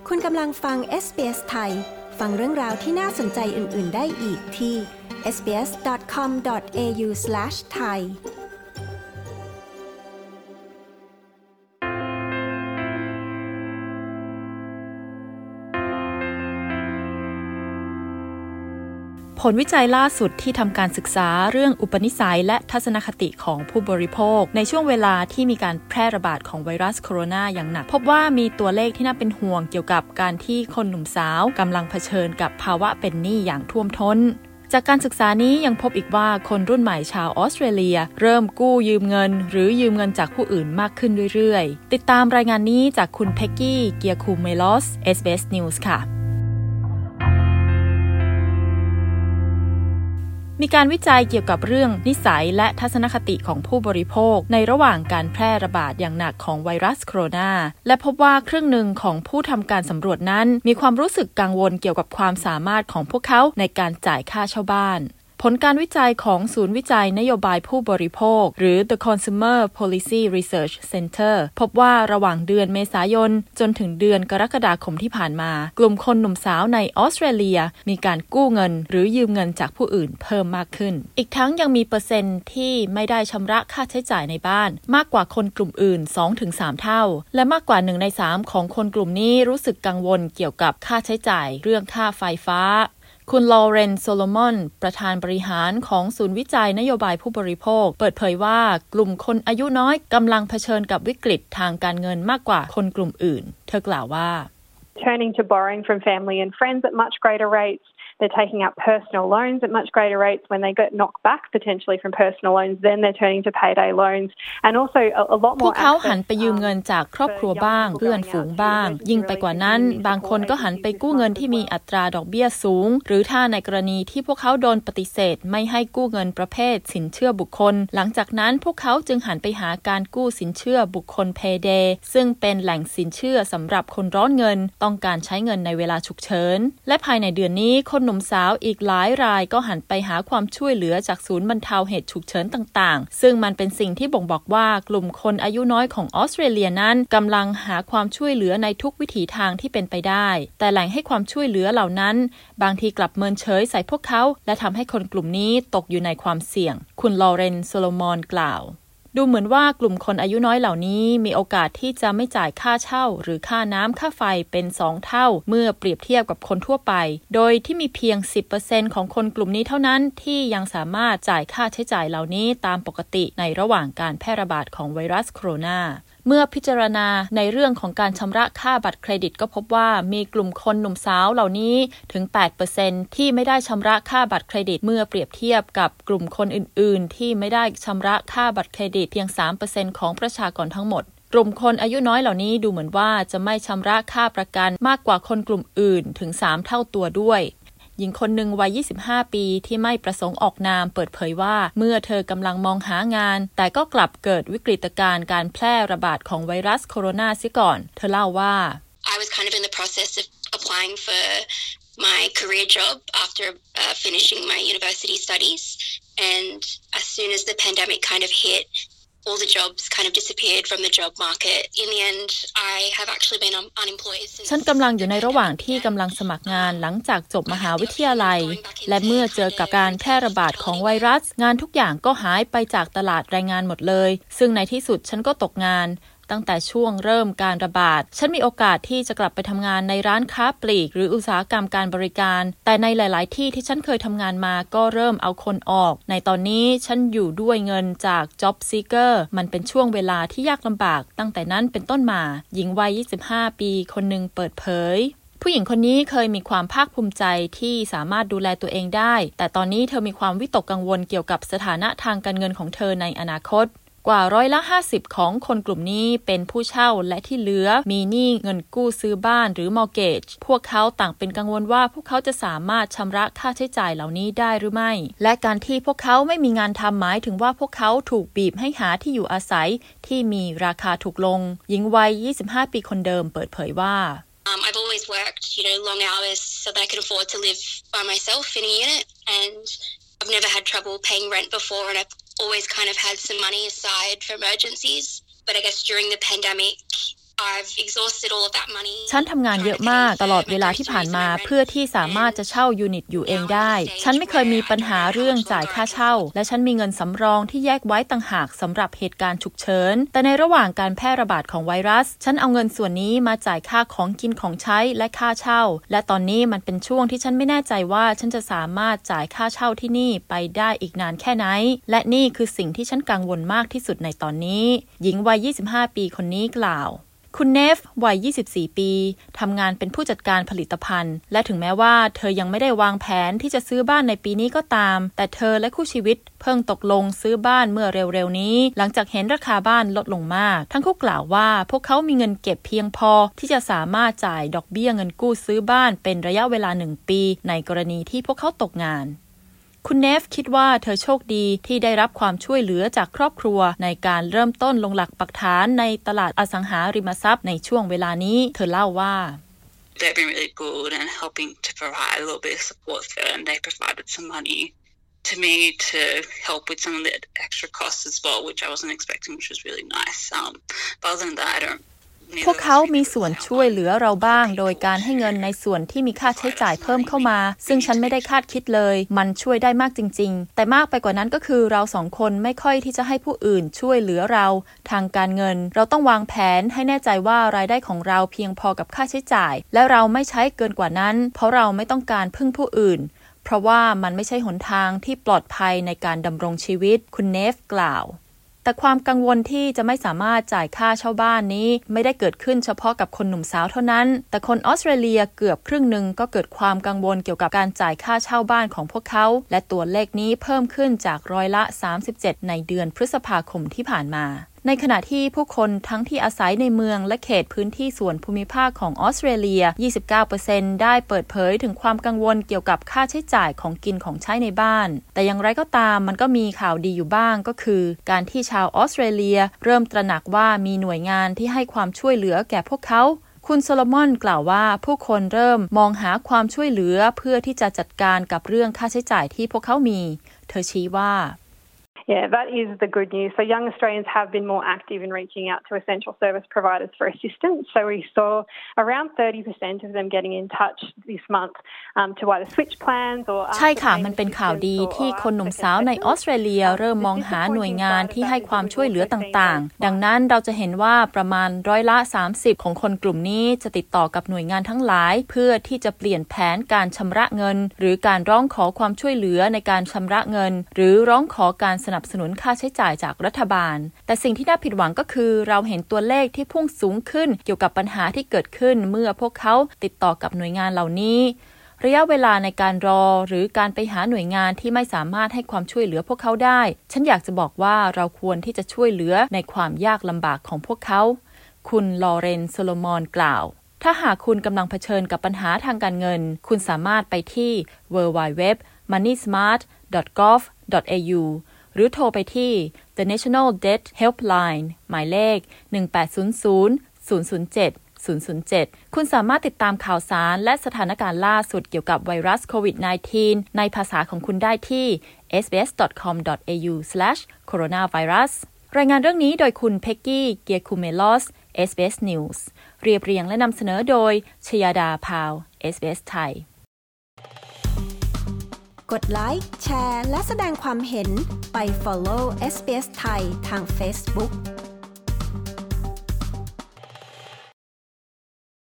คุณกำลังฟัง SBS ไทยฟังเรื่องราวที่น่าสนใจอื่นๆได้อีกที่ sbs.com.au/thai ผลวิจัยล่าสุดที่ทำการศึกษาเรื่องอุปนิสัยและทัศนคติของผู้บริโภคในช่วงเวลาที่มีการแพร่ระบาดของไวรัสโคโรนาอย่างหนักพบว่ามีตัวเลขที่น่าเป็นห่วงเกี่ยวกับการที่คนหนุ่มสาวกำลังเผชิญกับภาวะเป็นหนี้อย่างท่วมท้นจากการศึกษานี้ยังพบอีกว่าคนรุ่นใหม่ชาวออสเตรเลียเริ่มกู้ยืมเงินหรือยืมเงินจากผู้อื่นมากขึ้นเรื่อยๆติดตามรายงานนี้จากคุณเพ็กกี้เกียร์คูเมลอส SBS News ค่ะมีการวิจัยเกี่ยวกับเรื่องนิสัยและทัศนคติของผู้บริโภคในระหว่างการแพร่ระบาดอย่างหนักของไวรัสโคโรนาและพบว่าครึ่งหนึ่งของผู้ทำการสำรวจนั้นมีความรู้สึกกังวลเกี่ยวกับความสามารถของพวกเขาในการจ่ายค่าเช่าบ้านผลการวิจัยของศูนย์วิจัยนโยบายผู้บริโภคหรือ The Consumer Policy Research Center พบว่าระหว่างเดือนเมษายนจนถึงเดือนกรกฎาคมที่ผ่านมากลุ่มคนหนุ่มสาวในออสเตรเลียมีการกู้เงินหรือยืมเงินจากผู้อื่นเพิ่มมากขึ้นอีกทั้งยังมีเปอร์เซ็นต์ที่ไม่ได้ชำระค่าใช้จ่ายในบ้านมากกว่าคนกลุ่มอื่น 2-3 เท่าและมากกว่า1ใน3ของคนกลุ่มนี้รู้สึกกังวลเกี่ยวกับค่าใช้จ่ายเรื่องค่าไฟฟ้าคุณลอเรน โซโลมอนประธานบริหารของศูนย์วิจัยนโยบายผู้บริโภคเปิดเผยว่ากลุ่มคนอายุน้อยกำลังเผชิญกับวิกฤตทางการเงินมากกว่าคนกลุ่มอื่นเธอกล่าวว่า Turning to borrowing from family and friends at much greater rates. They're taking out personal loans at much greater rates. When they get knocked back potentially from personal loans, then they're turning to payday loans. And also a lot more พวกเขาหันไปยืมเงินจากครอบครัวบ้างเพื่อนฝูงบ้างยิ่งไปกว่านั้นบางคนก็หันไปกู้เงินที่มีอัตราดอกเบี้ยสูงหรือถ้าในกรณีที่พวกเขาโดนปฏิเสธไม่ให้กู้เงินประเภทสินเชื่อบุคคลหลังจากนั้นพวกเขาจึงหันไปหาการกู้สินเชื่อบุคคล Payday ซึ่งเป็นแหล่งสินเชื่อสำหรับคนร้อนเงินต้องการใช้เงินในเวลาฉุกเฉินและภายในเดือนนี้คนหนุ่มสาวอีกหลายรายก็หันไปหาความช่วยเหลือจากศูนย์บรรเทาเหตุฉุกเฉินต่างๆซึ่งมันเป็นสิ่งที่บ่งบอกว่ากลุ่มคนอายุน้อยของออสเตรเลียนั้นกำลังหาความช่วยเหลือในทุกวิถีทางที่เป็นไปได้แต่แหล่งให้ความช่วยเหลือเหล่านั้นบางทีกลับเมินเฉยใส่พวกเขาและทำให้คนกลุ่มนี้ตกอยู่ในความเสี่ยงคุณลอเรน โซโลมอนกล่าวดูเหมือนว่ากลุ่มคนอายุน้อยเหล่านี้มีโอกาสที่จะไม่จ่ายค่าเช่าหรือค่าน้ำค่าไฟเป็น2เท่าเมื่อเปรียบเทียบกับคนทั่วไปโดยที่มีเพียง 10% ของคนกลุ่มนี้เท่านั้นที่ยังสามารถจ่ายค่าใช้จ่ายเหล่านี้ตามปกติในระหว่างการแพร่ระบาดของไวรัสโคโรนาเมื่อพิจารณาในเรื่องของการชำระค่าบัตรเครดิตก็พบว่ามีกลุ่มคนหนุ่มสาวเหล่านี้ถึง 8% ที่ไม่ได้ชำระค่าบัตรเครดิตเมื่อเปรียบเทียบกับกลุ่มคนอื่นๆที่ไม่ได้ชำระค่าบัตรเครดิตเพียง 3% ของประชากรทั้งหมดกลุ่มคนอายุน้อยเหล่านี้ดูเหมือนว่าจะไม่ชำระค่าประกันมากกว่าคนกลุ่มอื่นถึง3เท่าตัวด้วยหญิงคนหนึ่งวัย 25 ปีที่ไม่ประสงค์ออกนามเปิดเผยว่าเมื่อเธอกำลังมองหางานแต่ก็กลับเกิดวิกฤตการณ์การแพร่ระบาดของไวรัสโคโรนาเสียก่อนเธอเล่าว่า I was kind of in the process of applying for my career job after finishing my university studies and as soon as the pandemic kind of hit all the jobs kind of disappeared from the job market. In the end, I have actually been unemployed since ฉันกำลังอยู่ในระหว่างที่กำลังสมัครงานหลังจากจบมหาวิทยาลัยและเมื่อเจอกับการแพร่ระบาดของไวรัสงานทุกอย่างก็หายไปจากตลาดแรงงานหมดเลยซึ่งในที่สุดฉันก็ตกงานตั้งแต่ช่วงเริ่มการระบาดฉันมีโอกาสที่จะกลับไปทำงานในร้านค้าปลีกหรืออุตสาหกรรมการบริการแต่ในหลายๆที่ที่ฉันเคยทำงานมาก็เริ่มเอาคนออกในตอนนี้ฉันอยู่ด้วยเงินจาก Job Seeker มันเป็นช่วงเวลาที่ยากลำบากตั้งแต่นั้นเป็นต้นมาหญิงวัย 25 ปีคนหนึ่งเปิดเผยผู้หญิงคนนี้เคยมีความภาคภูมิใจที่สามารถดูแลตัวเองได้แต่ตอนนี้เธอมีความวิตกกังวลเกี่ยวกับสถานะทางการเงินของเธอในอนาคตกว่า50%ของคนกลุ่มนี้เป็นผู้เช่าและที่เหลือมีหนี้เงินกู้ซื้อบ้านหรือ mortgage พวกเขาต่างเป็นกังวลว่าพวกเขาจะสามารถชำระค่าใช้จ่ายเหล่านี้ได้หรือไม่และการที่พวกเขาไม่มีงานทำหมายถึงว่าพวกเขาถูกบีบให้หาที่อยู่อาศัยที่มีราคาถูกลงหญิงวัย 25 ปีคนเดิมเปิดเผยว่า I've always worked, long hours so that I can afford to live by myself in a unit and I've never had trouble paying rent before and I've always kind of had some money aside for emergencies. But I guess during the pandemic, I've exhausted all of that money. ฉันทำงานเยอะมากตลอดเวลาที่ผ่านมาเพื่อที่สามารถจะเช่ายูนิตอยู่เองได้ฉันไม่เคยมีปัญหาเรื่องจ่ายค่าเช่าและฉันมีเงินสำรองที่แยกไว้ต่างหากสำหรับเหตุการณ์ฉุกเฉินแต่ในระหว่างการแพร่ระบาดของไวรัสฉันเอาเงินส่วนนี้มาจ่ายค่าของกินของใช้และค่าเช่าและตอนนี้มันเป็นช่วงที่ฉันไม่แน่ใจว่าฉันจะสามารถจ่ายค่าเช่าที่นี่ไปได้อีกนานแค่ไหนและนี่คือสิ่งที่ฉันกังวลมากที่สุดในตอนนี้หญิงวัย25 ปีคนนี้กล่าวคุณเนฟวัย24 ปีทำงานเป็นผู้จัดการผลิตภัณฑ์และถึงแม้ว่าเธอยังไม่ได้วางแผนที่จะซื้อบ้านในปีนี้ก็ตามแต่เธอและคู่ชีวิตเพิ่งตกลงซื้อบ้านเมื่อเร็วๆนี้หลังจากเห็นราคาบ้านลดลงมากทั้งคู่กล่าวว่าพวกเขามีเงินเก็บเพียงพอที่จะสามารถจ่ายดอกเบี้ยเงินกู้ซื้อบ้านเป็นระยะเวลา1 ปีในกรณีที่พวกเขาตกงานคุณเนฟคิดว่าเธอโชคดีที่ได้รับความช่วยเหลือจากครอบครัวในการเริ่มต้นลงหลักปักฐานในตลาดอสังหาริมทรัพย์ในช่วงเวลานี้เธอเล่าว่า They've been really good and helping to provide a little bit of support there and they provided some money to me to help with some of the extra costs as well which I wasn't expecting which was really nice but other than that I don't พวกเขามีส่วนช่วยเหลือเราบ้างโดยการให้เงินในส่วนที่มีค่าใช้จ่ายเพิ่มเข้ามาซึ่งฉันไม่ได้คาดคิดเลยมันช่วยได้มากจริงๆแต่มากไปกว่านั้นก็คือเราสองคนไม่ค่อยที่จะให้ผู้อื่นช่วยเหลือเราทางการเงินเราต้องวางแผนให้แน่ใจว่ารายได้ของเราเพียงพอกับค่าใช้จ่ายและเราไม่ใช้เกินกว่านั้นเพราะเราไม่ต้องการพึ่งผู้อื่นเพราะว่ามันไม่ใช่หนทางที่ปลอดภัยในการดำรงชีวิตคุณเนฟกล่าวแต่ความกังวลที่จะไม่สามารถจ่ายค่าเช่าบ้านนี้ไม่ได้เกิดขึ้นเฉพาะกับคนหนุ่มสาวเท่านั้นแต่คนออสเตรเลียเกือบครึ่งหนึ่งก็เกิดความกังวลเกี่ยวกับการจ่ายค่าเช่าบ้านของพวกเขาและตัวเลขนี้เพิ่มขึ้นจาก37%ในเดือนพฤษภาคมที่ผ่านมาในขณะที่ผู้คนทั้งที่อาศัยในเมืองและเขตพื้นที่ส่วนภูมิภาคของออสเตรเลีย 29% ได้เปิดเผยถึงความกังวลเกี่ยวกับค่าใช้จ่ายของกินของใช้ในบ้านแต่อย่างไรก็ตามมันก็มีข่าวดีอยู่บ้างก็คือการที่ชาวออสเตรเลียเริ่มตระหนักว่ามีหน่วยงานที่ให้ความช่วยเหลือแก่พวกเขาคุณโซโลมอนกล่าวว่าผู้คนเริ่มมองหาความช่วยเหลือเพื่อที่จะจัดการกับเรื่องค่าใช้จ่ายที่พวกเขามีเธอชี้ว่า Yeah, that is the good news. So young Australians have been more active in reaching out to essential service providers for assistance. So we saw around 30% of them getting in touch this month to either switch plans or ใช่ค่ะมันเป็นข่าวดีที่คนหนุ่มสาวในออสเตรเลียเริ่มมองหาหน่วยงานที่ให้ความช่วยเหลือต่างๆดังนั้นเราจะเห็นว่าประมาณ30%ของคนกลุ่มนี้จะติดต่อกับหน่วยงานทั้งหลายเพื่อที่จะเปลี่ยนแผนการชำระเงินหรือการร้องขอความช่วยเหลือในการชำระเงินหรือร้องขอการสนับสนุนค่าใช้จ่ายจากรัฐบาลแต่สิ่งที่น่าผิดหวังก็คือเราเห็นตัวเลขที่พุ่งสูงขึ้นเกี่ยวกับปัญหาที่เกิดขึ้นเมื่อพวกเขาติดต่อกับหน่วยงานเหล่านี้ระยะเวลาในการรอหรือการไปหาหน่วยงานที่ไม่สามารถให้ความช่วยเหลือพวกเขาได้ฉันอยากจะบอกว่าเราควรที่จะช่วยเหลือในความยากลำบากของพวกเขาคุณลอเรนโซโลมอนกล่าวถ้าหากคุณกำลังเผชิญกับปัญหาทางการเงินคุณสามารถไปที่ www.moneysmart.gov.au หรือโทรไปที่ The National Debt Helpline หมายเลข 1800-007-007 คุณสามารถติดตามข่าวสารและสถานการณ์ล่าสุดเกี่ยวกับไวรัสโควิด -19 ในภาษาของคุณได้ที่ sbs.com.au/coronavirus รายงานเรื่องนี้โดยคุณเพ็กกี้เกียร์คูเมลอส SBS News เรียบเรียงและนำเสนอโดยชยาดาพาว SBS ไทยกดไลค์แชร์และแสดงความเห็นไป follow SBS ไทยทาง Facebook